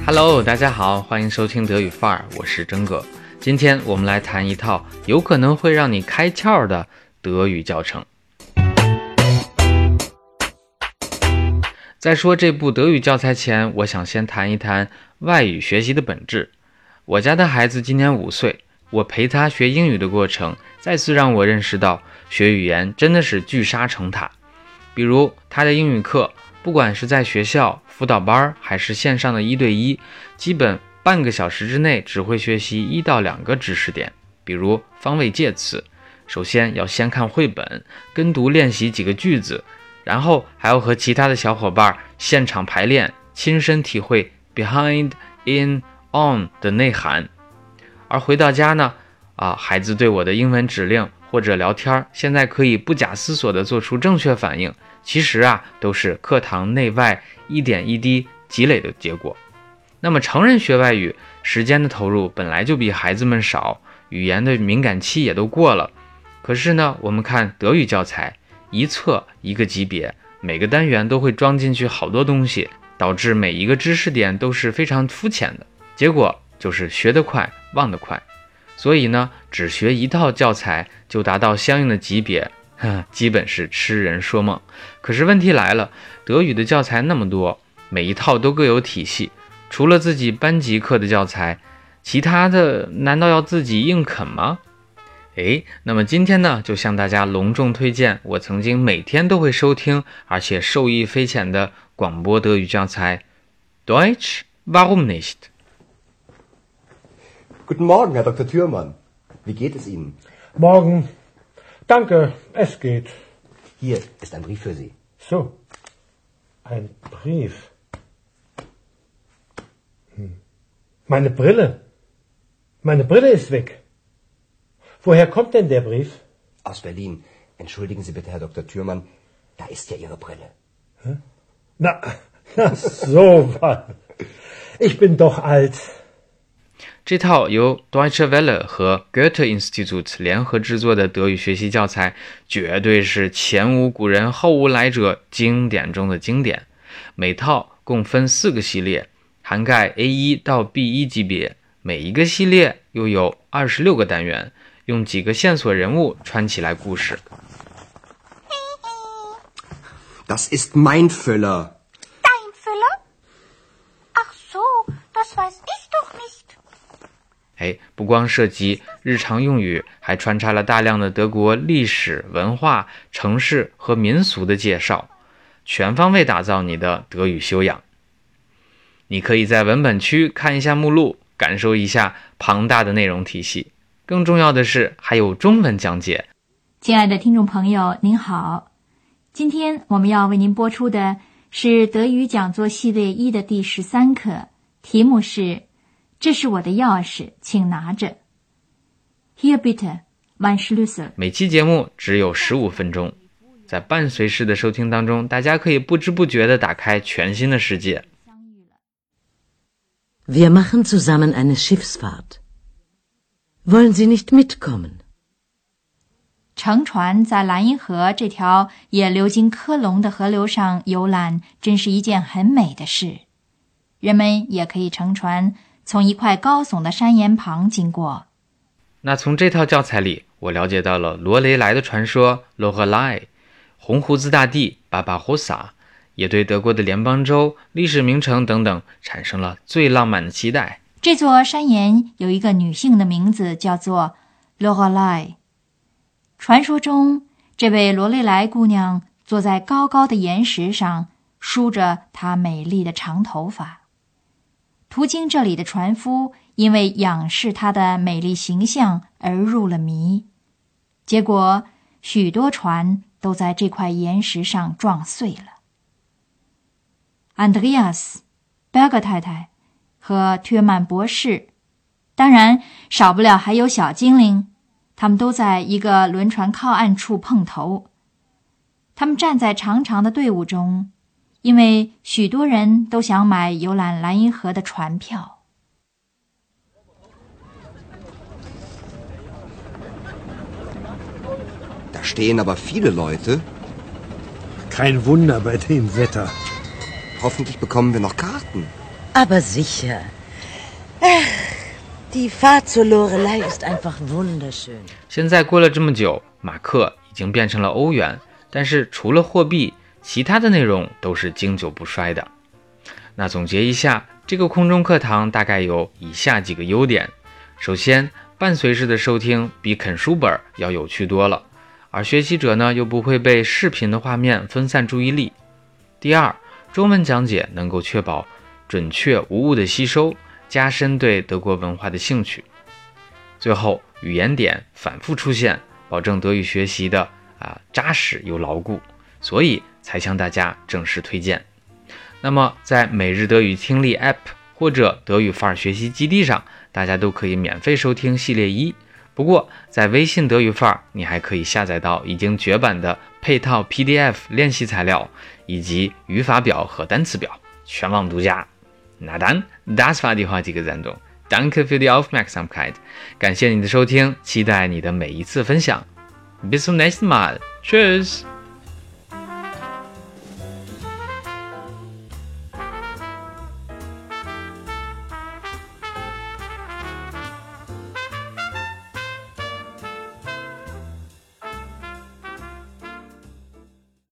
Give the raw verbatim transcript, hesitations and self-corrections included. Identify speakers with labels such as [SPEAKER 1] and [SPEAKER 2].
[SPEAKER 1] Hello， 大家好，欢迎收听德语范儿，我是真哥。今天我们来谈一套有可能会让你开窍的德语教程。在说这部德语教材前，我想先谈一谈外语学习的本质。我家的孩子今年五岁，我陪他学英语的过程，再次让我认识到学语言真的是聚沙成塔。比如他的英语课，不管是在学校辅导班还是线上的一对一，基本半个小时之内只会学习一到两个知识点，比如方位介词，首先要先看绘本，跟读练习几个句子，然后还要和其他的小伙伴现场排练，亲身体会 behind, in, on 的内涵。而回到家呢，啊，孩子对我的英文指令或者聊天，现在可以不假思索地做出正确反应，其实啊，都是课堂内外一点一滴积累的结果。那么成人学外语，时间的投入本来就比孩子们少，语言的敏感期也都过了。可是呢，我们看德语教材，一册一个级别，每个单元都会装进去好多东西，导致每一个知识点都是非常肤浅的，结果就是学得快，忘得快。所以呢，只学一套教材就达到相应的级别，呵，基本是痴人说梦。可是问题来了，德语的教材那么多，每一套都各有体系，除了自己班级课的教材，其他的难道要自己硬啃吗？诶，那么今天呢，就向大家隆重推荐我曾经每天都会收听，而且受益匪浅的广播德语教材 Deutsch, warum nicht?
[SPEAKER 2] Guten Morgen, Herr Doktor Thürmann. Wie geht es Ihnen?
[SPEAKER 3] Morgen. Danke, es geht.
[SPEAKER 2] Hier ist ein Brief für Sie.
[SPEAKER 3] So, ein Brief. Hm. Meine Brille. Meine Brille ist weg. Woher kommt denn der Brief?
[SPEAKER 2] Aus Berlin. Entschuldigen Sie bitte, Herr Doktor Thürmann. Da ist ja Ihre Brille.
[SPEAKER 3] Hm? Na, na, so was. Ich bin doch alt.
[SPEAKER 1] 这套由 Deutsche Welle 和 Goethe-Institut 联合制作的德语学习教材，绝对是前无古人后无来者，经典中的经典。每套共分四个系列，涵盖 A 一 到 B 一 级别，每一个系列又有二十六个单元，用几个线索人物串起来故事。
[SPEAKER 2] Das ist mein Füller.
[SPEAKER 4] Dein Füller? Ach so, das weiß ich doch nicht.
[SPEAKER 1] 哎，不光涉及日常用语，还穿插了大量的德国历史、文化、城市和民俗的介绍，全方位打造你的德语修养。你可以在文本区看一下目录，感受一下庞大的内容体系。更重要的是，还有中文讲解。
[SPEAKER 5] 亲爱的听众朋友，您好，今天我们要为您播出的是德语讲座系列一的第十三课，题目是这是我的钥匙，请拿着。Hier bitte, mein Schlüssel。
[SPEAKER 1] 每期节目只有十五分钟，在伴随式的收听当中，大家可以不知不觉地打开全新的世界。
[SPEAKER 6] Wir machen zusammen eine Schiffsfahrt. Wollen Sie nicht mitkommen?
[SPEAKER 5] 乘船在莱茵河这条也流经科隆的河流上游览，真是一件很美的事。人们也可以乘船从一块高耸的山岩旁经过。
[SPEAKER 1] 那从这套教材里，我了解到了罗雷莱的传说 Lorelei， 红胡子大帝 Barbarossa， 也对德国的联邦州、历史名城等等产生了最浪漫的期待。
[SPEAKER 5] 这座山岩有一个女性的名字叫做 Lorelei。 传说中，这位罗雷莱姑娘坐在高高的岩石上，梳着她美丽的长头发。途经这里的船夫因为仰视她的美丽形象而入了迷，结果许多船都在这块岩石上撞碎了。安德烈亚斯、贝尔格太太和ทื尔曼博士，当然少不了还有小精灵，他们都在一个轮船靠岸处碰头。他们站在长长的队伍中，因为许多人都想买游览莱茵河的船票。
[SPEAKER 2] Da stehen aber viele Leute.
[SPEAKER 3] Kein Wunder bei dem Wetter.
[SPEAKER 2] Hoffentlich bekommen wir noch Karten.
[SPEAKER 6] Aber sicher. Ach, die Fahrt zur Lorelei ist einfach wunderschön.
[SPEAKER 1] 现在过了这么久，马克已经变成了欧元，但是除了货币，其他的内容都是经久不衰的。那总结一下，这个空中课堂大概有以下几个优点。首先，伴随式的收听比啃书本要有趣多了，而学习者呢又不会被视频的画面分散注意力。第二，中文讲解能够确保准确无误的吸收，加深对德国文化的兴趣。最后，语言点反复出现，保证德语学习的啊扎实又牢固，所以才向大家正式推荐。那么在每日德语听力 App 或者德语范儿学习基地上，大家都可以免费收听系列一。不过在微信德语范儿，你还可以下载到已经绝版的配套 P D F 练习材料以及语法表和单词表，全网独家。那dann, das war die heutige Sendung. Danke für die Aufmerksamkeit. 感谢你的收听，期待你的每一次分享。Bis zum nächsten Mal. Tschüss.